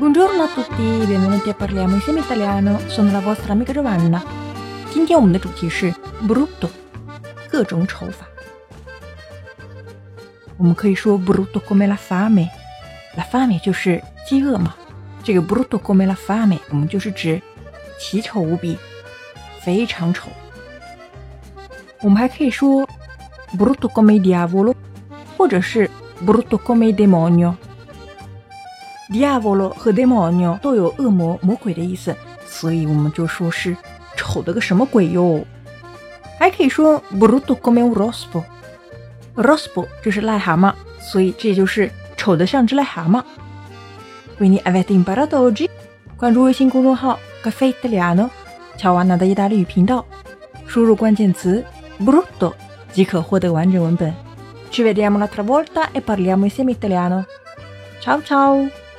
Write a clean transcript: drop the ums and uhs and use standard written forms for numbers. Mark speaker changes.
Speaker 1: Buongiorno a tutti, benvenuti a Parliamo insieme italiano. Sono la vostra amica Giovanna. 今天我们的主题是 brutto， 各种丑法。我们可以说 brutto come la fame，la fame 就是饥饿嘛。这个 brutto come la fame 我们就是指奇丑无比，非常丑。我们还可以说 brutto come il diavolo， 或者是 brutto come il demonio。Diavolo 和 demonio 都有恶魔、魔鬼的意思，所以我们就说是丑的个什么鬼哟。还可以说 brutto come un rospo，rospo 就是癞蛤蟆，所以这就是丑的像只癞蛤蟆。Quindi avete imparato oggi？ 关注微信公众号 Caffè Italiano， 乔瓦纳的意大利语频道，输入关键词 brutto 即可获得完整文本。Ci vediamo l'altra volta e parliamo insieme italiano. Ciao ciao!